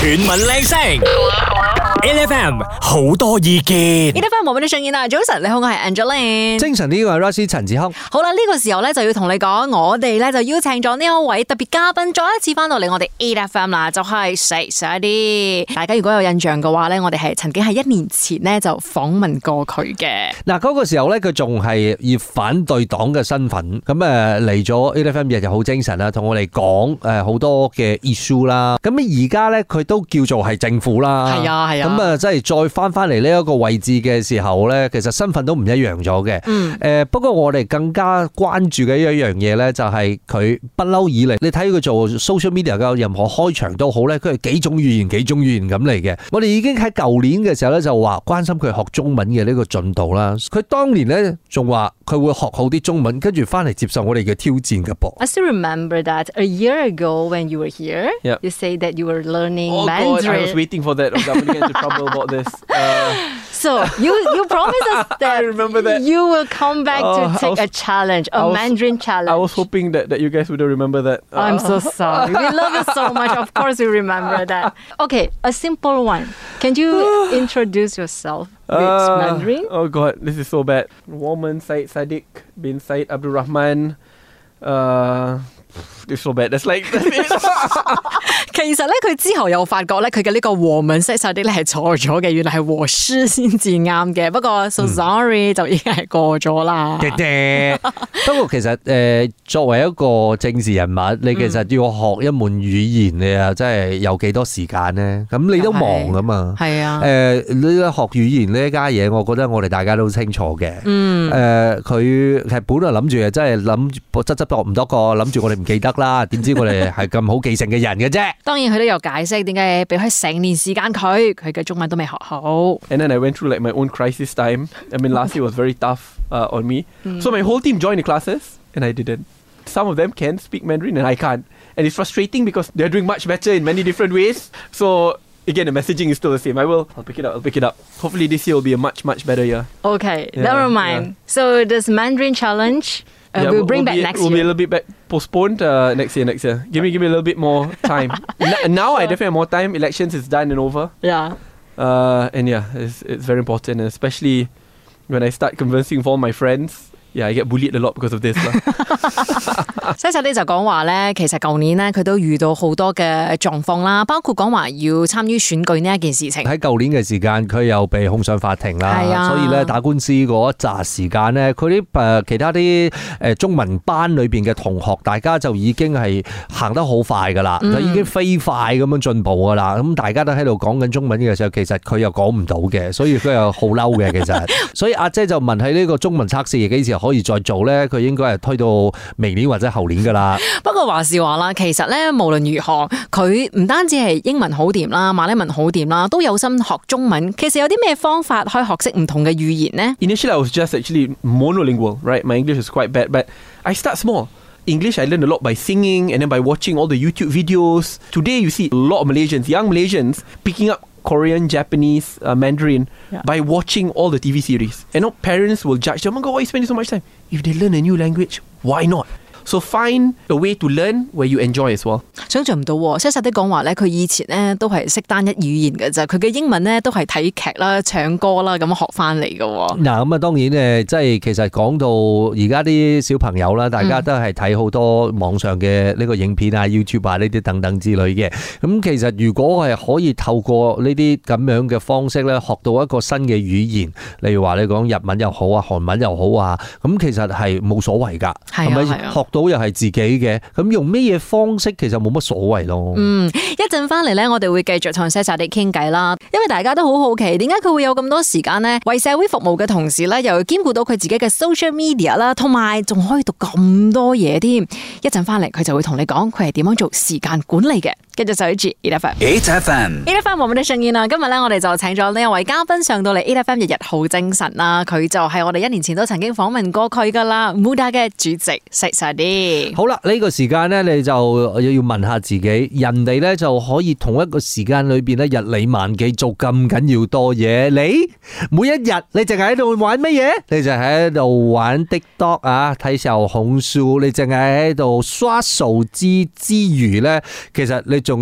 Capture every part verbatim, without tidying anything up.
全民靚聲 ，L F M 好多意見 ，L F M 冇俾你上演啦。早晨，你好，我係 Angeline。 精神呢個係 Rosie 陳志康。 好啦，呢、這個時候咧就要同你講，我哋咧就邀請咗呢一位特別嘉賓，再一次翻到嚟我哋 L F M 啦，就係細細啲。大家如果有印象嘅話咧，我哋係曾經喺一年前咧就訪問過佢嘅。 嗱，嗰個時候咧，佢仲係以反對黨嘅身份，咁誒嚟咗 L F M 日日好精神啦，同我哋講誒好多嘅 issue 啦。咁而家咧佢都叫做係政府啦， 係啊係啊。 咁啊，即係再翻翻嚟呢一個位置嘅時候咧，其實身份都唔一樣咗嘅。 嗯。 誒，不過我哋更加關注嘅一樣嘢咧，就係佢不嬲以嚟，你睇佢做 social media 嘅任何開場都好咧，佢係幾種語言幾種語言咁嚟嘅。我哋已經喺舊年嘅時候咧就話關心佢學中文嘅呢個進度啦。佢當年咧仲話佢會學好啲中文，跟住翻嚟接受我哋嘅挑戰嘅噃。 I still remember that a year ago when you were here, yep. you say that you were learning oh Mandarin. God, I was waiting for that. I'm going to get into trouble about this. Uh, so you you promised us that, I remember that you will come back uh, to take was, a challenge, a was, Mandarin challenge. I was hoping that, that you guys would remember that. Uh, I'm so sorry. We love you so much. Of course, we remember that. Okay, a simple one. Can you introduce yourself with uh, Mandarin? Oh God, this is so bad. Woman Syed Sadiq bin Syed Abdul Rahman. Uh, It's so bad. That's like that's it. 其實咧，佢之後又發覺咧，佢嘅呢個和文西晒啲咧係錯咗嘅，原來係和師先至啱嘅。不過 so sorry、嗯、就已經係過咗啦。 不過其實誒、呃，作為一個政治人物，你其實要學一門語言，你啊真係有幾多時間呢？咁你都忙噶嘛？係啊。誒、呃，你學語言呢一家嘢，我覺得我哋大家都清楚嘅。嗯。誒、呃，佢係本來諗住誒，真係諗執執落唔多個，諗住我哋唔記得啦。點知我哋係咁好記性嘅人嘅啫。 當然佢都有解釋點解俾佢成年時間佢，佢嘅中文都未學好。 And then I went through like my own crisis time. I mean, last year was very tough uh, on me. Mm. So my whole team joined the classes, and I didn't. Some of them can speak Mandarin, and I can't. And it's frustrating because they're doing much better in many different ways. So again, the messaging is still the same. I will. I'll pick it up. I'll pick it up. Hopefully this year will be a much, much better year. Okay, yeah, never mind. Yeah. So this Mandarin challenge, uh, yeah, we'll bring we'll back be, next we'll year. We'll be a little bit back postponed uh, next year. Next year. Give me, give me a little bit more time. N- now I definitely have more time. Elections is done and over. Yeah. Uh, and yeah, it's it's very important, and especially when I start conversing with all my friends. Yeah, I get bullied a lot because of this 啦。 西西啲就講話咧，其實舊年咧佢都遇到好多嘅狀況啦，包括講話要參與選舉呢一件事情。 喺舊年嘅時間，佢又被控上法庭啦，啊、所以咧打官司嗰一紮時間咧，佢啲誒其他啲誒中文班裏邊嘅同學，大家就已經係行得好快噶啦，就、嗯、已經飛快咁樣進步噶啦。咁大家都喺度講緊中文嘅時候，其實佢又講唔到嘅，所以佢又好嬲嘅。其實，所以阿姐就問喺呢個中文測試幾時可以再做咧？佢應該係推到明年或者後年噶啦。 不過話是話啦，其實咧無論如何，佢唔單止係英文好掂啦，馬來文好掂啦，都有心學中文。其實有啲咩方法可以學識唔同嘅語言呢？ Initially, I was just actually monolingual, right? My English is quite bad, but I start small. English, I learned a lot by singing and then by watching all the YouTube videos. Today, you see a lot of Malaysians, young Malaysians, picking up Korean, Japanese, uh, Mandarin yeah. by watching all the T V series. And now parents will judge them, oh my God, why are you spending so much time? If they learn a new language, why not? So find a way to learn where you enjoy as well. 想象唔到喎，實實啲講話咧，佢以前咧都係識單一語言嘅咋，佢嘅英文咧都係睇劇啦、唱歌啦咁學翻嚟嘅。嗱咁啊，當然誒，即係其實講到而家啲小朋友啦，大家都係睇好多網上嘅呢個影片啊、YouTube 啊呢啲等等之類嘅。咁其實如果係可以透過呢啲咁樣嘅方式咧，學到一個新嘅語言，例如話你講日文又好啊、韓文又好啊，咁其實係冇所謂㗎，係咪？學到又係自己嘅，咁用咩嘢方式其實冇乜所謂咯。嗯， 一陣翻嚟咧，我哋會繼續同西沙地傾偈啦。因為大家都好好奇，點解佢會有咁多時間呢？為社會服務嘅同時咧，又要兼顧到佢自己嘅 social media 啦，同埋仲可以讀咁多嘢添。一陣翻嚟，佢就會同你講佢係點樣做時間管理嘅。繼續守住 eight F M。eight F M。eight F M 我哋的盛宴啦，今日咧我哋就請咗呢一位嘉賓上到嚟 eight F M 日日好精神啦。佢就係我哋一年前都曾經訪問過佢噶啦 ，Muda 嘅主席西沙地。 好啦，呢、這個時間咧，你就要問下自己，人哋咧就可以同一個時間裏邊咧日理萬機做咁緊要多嘢，你每一日你淨係喺度玩乜嘢？你就喺度玩 TikTok 啊，睇小紅書，你淨係喺度刷手機之餘咧，其實你仲要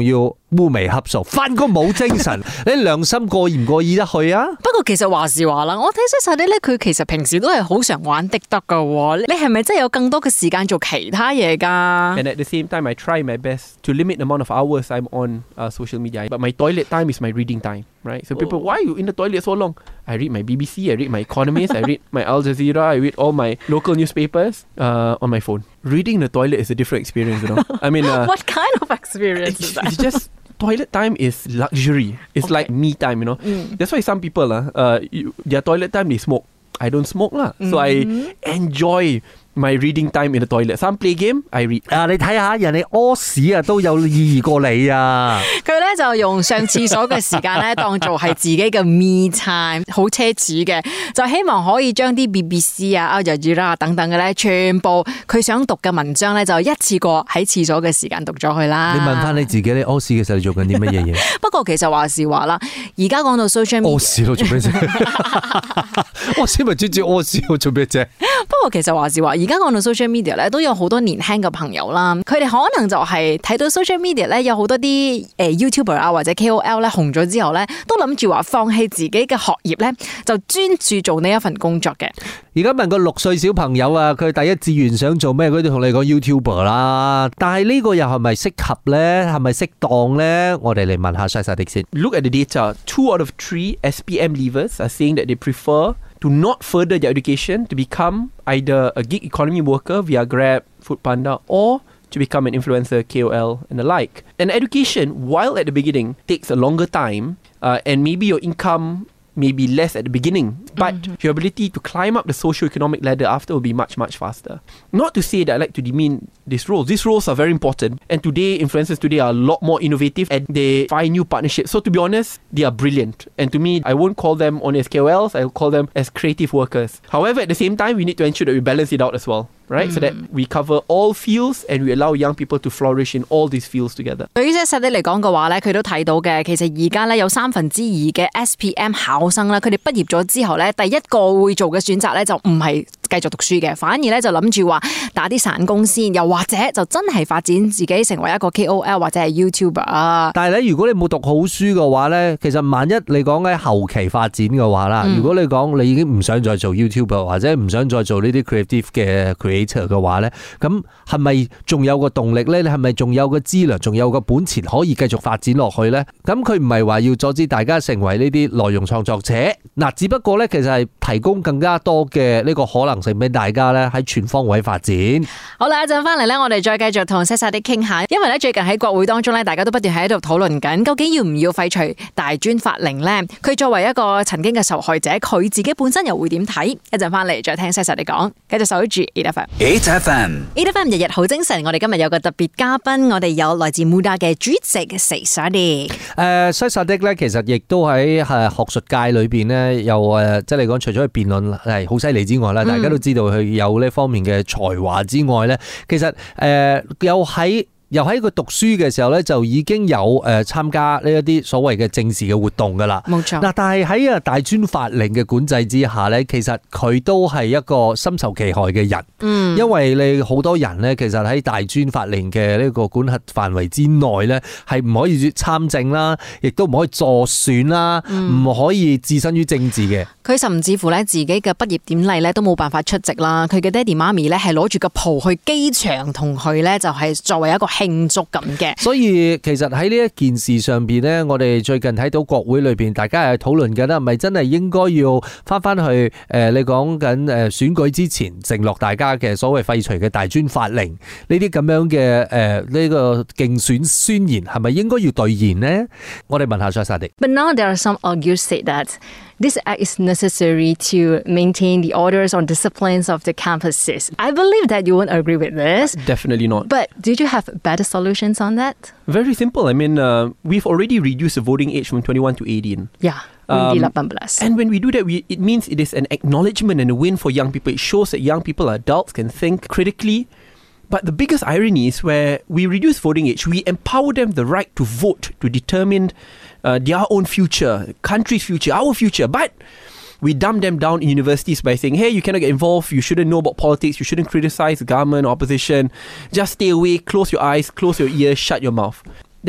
烏眉瞌數，翻工冇精神，你良心過意唔過意得去啊？ 不過其實話是話啦，我睇西沙迪咧，佢其實平時都係好常玩的得噶。你係咪真係有更多嘅時間做其他嘢噶 And at the same time, I try my best to limit the amount of hours I'm on uh, social media. But my toilet time is my reading time, right? So people, why are you in the toilet so long? I read my B B C, I read my Economist, I read my Al Jazeera, I read all my local newspapers uh, on my phone. Reading in the toilet is a different experience, you know. I mean, uh, what kind of experience is it's, that? it's just toilet time is luxury. It's Okay. like me time, you know. Mm. That's why some people, uh, uh, you, their toilet time they smoke. I don't smoke lah, so Mm-hmm. I enjoy my reading time in the toilet. Some play game, I read. 啊，你睇下人哋屙屎啊都有意義過你啊！ 佢咧就用上廁所嘅時間咧當做係自己嘅 me time， 好奢侈嘅，就希望可以將啲 B B C 啊、Al Jazeera 等等嘅咧，全部佢想讀嘅文章咧，就一次過喺廁所嘅時間讀咗佢啦。 你問翻你自己，你屙屎嘅時候你做緊啲乜嘢嘢？ 不過其實話是話啦，而家講到 social media， 屙屎咯，做咩啫？屙屎咪專注屙屎，我做咩啫？ 不過其實話是話，而家講到 social media 咧，都有好多年輕嘅朋友啦，佢哋可能就係睇到 social media 咧有好多啲誒 YouTuber 啊或者 K O L 咧紅咗之後咧，都諗住話放棄自己嘅學業咧，就專注做呢一份工作嘅。 而家問個六歲小朋友啊，佢第一志願想做咩？佢都同你講 YouTuber 啦。但係呢個又係咪適合咧？係咪適當咧？我哋嚟問下西沙迪先。 Look at the data. Two out of three S P M leavers are saying that they prefer to not further their education to become either a gig economy worker via Grab, Foodpanda, or to become an influencer, K O L, and the like. And education, while at the beginning takes a longer time, uh, and maybe your income may be less at the beginning, but mm-hmm. your ability to climb up the socio-economic ladder after will be much, much faster. Not to say that I like to demean these roles. These roles are very important, and today, influencers today are a lot more innovative and they find new partnerships. So to be honest, they are brilliant. And to me, I won't call them only as K O Ls, I'll call them as creative workers. However, at the same time, we need to ensure that we balance it out as well. Right? Mm. So that we cover all fields and we allow young people to flourish in all these fields together. 對於實際嚟講嘅話咧，佢都睇到嘅，其實而家咧有三分之二嘅 S P M 考生啦，佢哋畢業咗之後咧，第一個會做嘅選擇咧就唔係繼續讀書嘅，反而咧就諗住話打啲散工先，又或者就真係發展自己成為一個 K O L 或者係 YouTuber 啊。 但係咧，如果你冇讀好書嘅話咧，其實萬一你講喺後期發展嘅話啦，嗯、如果你講你已經唔想再做 YouTuber 或者唔想再做呢啲 creative 嘅 creator 嘅話咧，咁係咪仲有個動力咧？你係咪仲有個資糧，仲有個本錢可以繼續發展落去咧？咁佢唔係話要阻止大家成為呢啲內容創作者，嗱，只不過咧其實係提供更加多嘅呢個可能性俾大家咧喺全方位發展。 好啦，一陣翻嚟咧，我哋再繼續同西沙迪傾下，因為咧最近喺國會當中咧，大家都不斷喺度討論緊，究竟要唔要廢除大專法令咧？佢作為一個曾經嘅受害者，佢自己本身又會點睇？一陣翻嚟再聽西沙迪講，繼續守住 eight F M。F M，eight F M 日日好精神。我哋今日有個特別嘉賓，我哋有來自 Muda 嘅主席西沙迪。誒， 西沙迪咧，其實亦都喺誒學術界裏邊咧，又誒即係嚟講，除咗佢辯論係好犀利之外咧，嗯、大家都知道佢有呢方面嘅才華之外咧，其實誒又喺。又喺佢讀書嘅時候咧，就已經有誒參加呢一啲所謂嘅政治嘅活動噶啦。 冇錯。嗱， 但係喺啊大專法令嘅管制之下咧，其實佢都係一個深受其害嘅人。嗯。因為你好多人咧，其實喺大專法令嘅呢個管轄範圍之內咧，係唔可以參政啦，亦都唔可以助選啦，唔、嗯、可以置身於政治嘅。 佢甚至乎咧自己嘅畢業典禮咧都冇辦法出席啦。佢嘅爹哋媽咪咧係攞住個袍去機場同佢咧就係作為一個慶祝咁嘅， 所以其實喺呢一件事上邊呢，我哋最近睇到國會裏邊，大家係討論緊啦，係咪真係應該要翻翻去誒？你講緊誒選舉之前承諾大家嘅所謂廢除嘅大專法令呢啲咁樣嘅誒呢個競選宣言，係咪應該要兌現呢？我哋問下西沙迪。 But now there are some argues say that this act is necessary to maintain the orders or disciplines of the campuses. I believe that you won't agree with this. Definitely not. But did you have better solutions on that? Very simple. I mean, uh, we've already reduced the voting age from twenty-one to eighteen. Yeah. Um, and when we do that, we, it means it is an acknowledgement and a win for young people. It shows that young people are adults, can think critically. But the biggest irony is where we reduce voting age, we empower them the right to vote, to determine uh, their own future, country's future, our future. But we dumb them down in universities by saying, hey, you cannot get involved, you shouldn't know about politics, you shouldn't criticize the government or opposition, just stay away, close your eyes, close your ears, shut your mouth.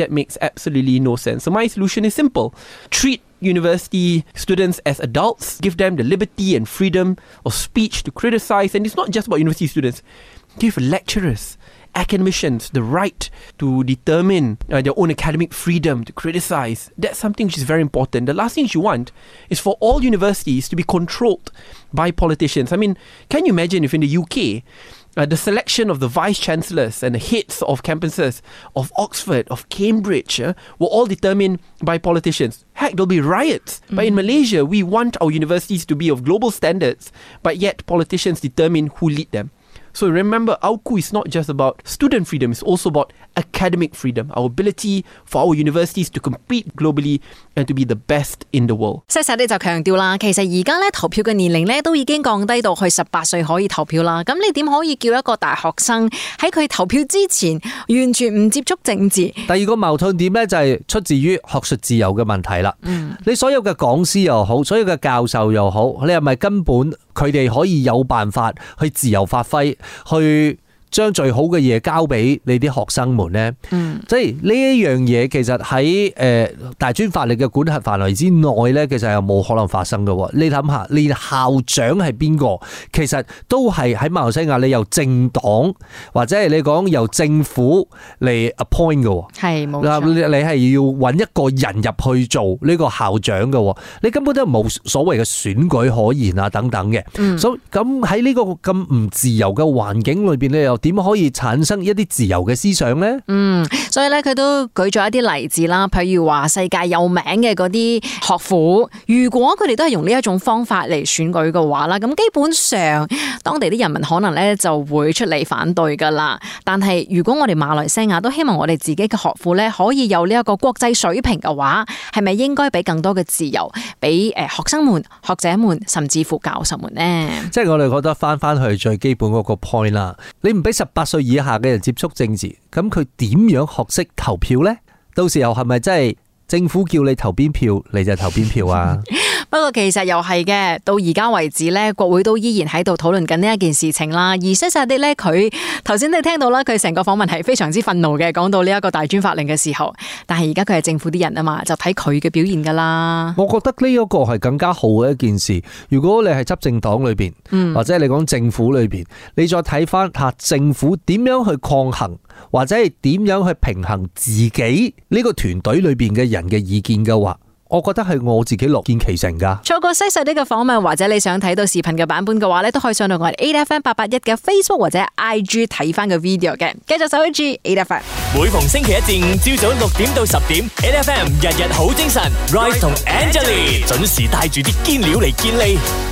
that makes absolutely no sense. So my solution is simple. Treat university students as adults, give them the liberty and freedom of speech to criticize. And it's not just about university students. Give lecturers, academicians the right to determine uh, their own academic freedom to criticize. That's something which is very important. The last thing you want is for all universities to be controlled by politicians. I mean, can you imagine if in the U K, Uh, the selection of the vice-chancellors and the heads of campuses of Oxford, of Cambridge, uh, were all determined by politicians? Heck, there'll be riots. Mm-hmm. But in Malaysia, we want our universities to be of global standards, but yet politicians determine who lead them. So remember, A U K U is not just about student freedom, it's also about academic freedom, our ability for our universities to compete globally and to be the best in the world. 細細啲就強調啦，其實而家咧投票嘅年齡咧都已經降低到去十八歲可以投票啦。咁你點可以叫一個大學生喺佢投票之前完全唔接觸政治？ 第二個矛盾點咧就係出自於學術自由嘅問題啦。嗯，你所有嘅講師又好，所有嘅教授又好，你係咪根本佢哋可以有辦法去自由發揮？去將最好嘅嘢交俾你啲學生們呢？嗯，即係呢一樣嘢，其實喺誒大專法律嘅管轄範圍之內呢，其實係冇可能發生嘅。你諗下，連校長係邊個，其實都係喺馬來西亞，你由政黨或者係你講由政府嚟 appoint 嘅。係冇錯，你係要揾一個人入去做呢個校長嘅，你根本都冇所謂嘅選舉可言啊等等嘅。嗯，所以咁喺呢個咁唔自由嘅環境裏邊咧，又點可以產生一啲自由嘅思想呢？嗯， 所以咧佢都舉咗一啲例子啦，譬如話世界有名嘅嗰啲學府，如果佢哋都係用呢一種方法嚟選舉嘅話啦，咁基本上當地啲人民可能咧就會出嚟反對噶啦。但係如果我哋馬來西亞都希望我哋自己嘅學府咧可以有呢一個國際水平嘅話，係咪應該俾更多嘅自由俾誒學生們、學者們，甚至乎教授們呢？ 即係我哋覺得翻翻去最基本嗰個 point 啦，你唔俾十八歲以下嘅人接觸政治，咁佢點樣學識投票呢？到時候係咪真係政府叫你投邊票，你就投邊票啊？ 不過其實又係嘅，到而家為止咧，國會都依然喺度討論緊呢一件事情啦。而西薩迪咧，佢頭先你聽到啦，佢成個訪問係非常之憤怒嘅，講到呢一個大專法令嘅時候。但係而家佢係政府啲人啊嘛，就睇佢嘅表現噶啦。 我覺得呢一個係更加好嘅一件事。如果你係執政黨裏邊，嗯、或者你講政府裏邊，你再睇翻下政府點樣去抗衡，或者係點樣去平衡自己呢個團隊裏邊嘅人嘅意見嘅話，我覺得係我自己樂見其成噶。 錯過西細呢個訪問，或者你想睇到視頻嘅版本嘅話咧，都可以上到我哋 A F M 八八一嘅 Facebook 或者 I G 睇翻個 video 嘅。繼續守住 A F M。 每逢星期一至五朝早六點到十點 ，A F M 日日好精神 ，Rise 同 Angelie 準時帶住啲堅料嚟健利。